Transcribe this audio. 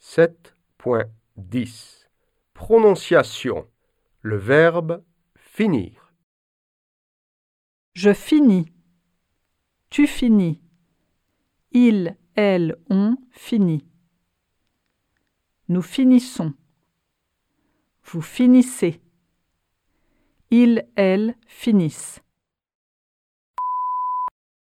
7.10 Prononciation. Le verbe finir. Je finis. Tu finis. Il, elle, on finit. Nous finissons. Vous finissez. Il, elle finissent.